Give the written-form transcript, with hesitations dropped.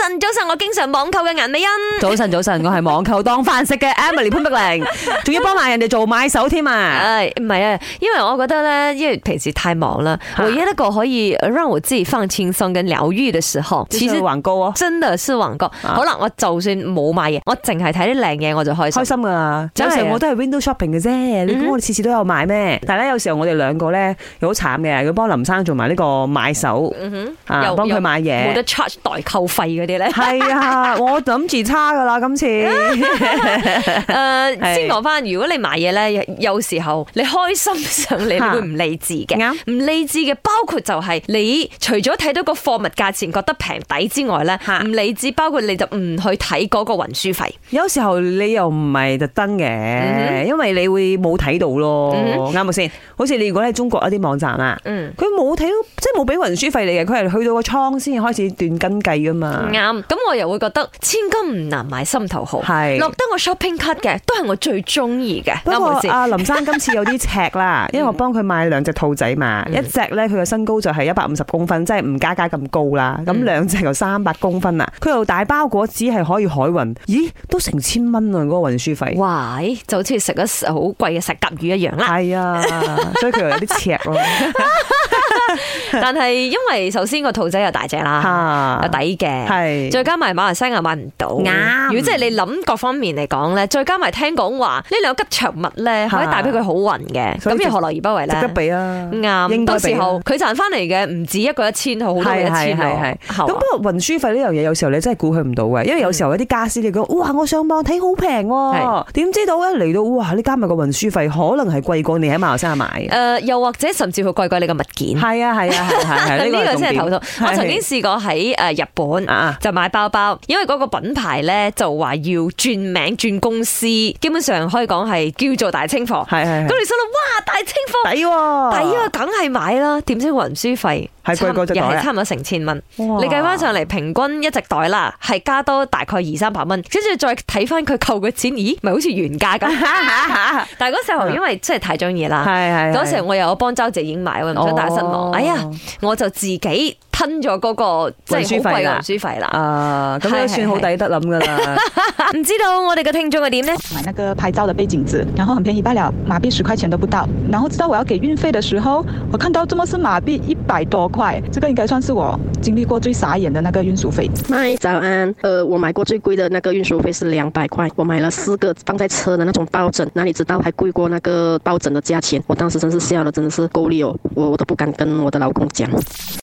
晨，我經常網購嘅顏美欣。 早晨，我係網購當飯食嘅 Emily 潘碧玲，仲要幫埋人哋做買手添啊！ 唔係啊，因為我覺得咧，因為平時太忙啦，唯一一個可以讓我自己放輕鬆跟療癒嘅時候， 其實網購啊， 真的是網購。好啦，我就算冇買嘢，我淨係睇啲靚嘢我就開心噶啦。有時候我都係 window shopping 嘅啫，你估我哋次次都有買咩？但係咧，有時候我哋兩個咧又好慘嘅，要幫林生做埋呢個買手，幫佢買嘢， 冇得 charge 代購費嗰啲咧。 係啊，我諗住差噶啦，今次。 先講翻，如果你買嘢咧，有時候你開心上嚟，你會唔理智嘅。唔理智嘅包括就係你除咗睇到個貨物價錢覺得平抵之外咧，唔理智包括你就唔去睇嗰個運輸費。 有時候你又唔係特登嘅，因為你會冇睇到咯，啱冇先？好似你如果喺中國一啲網站啊，佢冇睇到，即係冇俾運輸費你嘅，佢係去到個倉先開始斷斤計噶嘛。 啱，咁我又會覺得千金唔難買心頭好，落得我 shopping cart 嘅都係我最中意嘅。 不過阿林生今次有啲尺啦，因為我幫佢買兩隻兔仔嘛，一隻咧佢嘅身高就係150公分，即係唔加咁高啦。咁兩隻就300公分啦，佢又大包裹只係可以海運，咦都成1000蚊啊！嗰個運輸費， 哇，就好似食咗好貴嘅石甲魚一樣啦。 係啊，所以佢又有啲尺咯。 但係因為首先個兔仔又大隻啦，又抵嘅，再加埋馬來西亞買唔到。如果即係你諗各方面嚟講咧，再加埋聽講話呢兩個吉祥物咧，可以帶俾佢好運嘅，咁又何樂而不為咧？值得俾啊！ 啱，到時候佢賺翻嚟嘅唔止一個1000，好多個1000咯。 咁不過運輸費呢樣嘢，有時候你真係估佢唔到嘅，因為有時候有啲家私你講，哇！我上網睇好平喎，點知道一嚟到，哇！你加埋個運輸費，可能係貴過你喺馬來西亞買。 又或者甚至乎貴過你個物件。 係啊，呢個先係頭痛。我曾經試過喺日本就買包包，因為嗰個品牌咧就話要轉名轉公司，基本上可以講係叫做大清貨。咁你心諗，哇！大清貨抵喎，梗係買啦。點知運輸費係貴過隻袋， 又係差唔多成1000蚊。你計翻上嚟，平均一隻袋啦，係加多大概200-300蚊。跟住再睇翻佢扣嘅錢，咦？咪好似原價咁。但係嗰時候因為真係太中意啦，嗰時候我又有幫周姐影買，我唔想大家失望。哎呀，我就自己吞咗嗰個即係好貴嘅運輸費啦。 咁都算好抵得諗噶啦。 唔知道我哋嘅聽眾係點呢？ 買那個拍照的背景紙，然後很便宜罷了，馬幣10塊錢都不到。然後知道我要給運費的時候，我看到這麼是馬幣100多塊，這個應該算是我經歷過最傻眼的那個運輸費。 嗨，早安。我買過最貴的那個運輸費是200塊，我買了4個放在車的那種抱枕，哪裡知道還貴過那個抱枕的價錢？我當時真是笑了，真的是夠力哦，我都不敢跟我的老公講。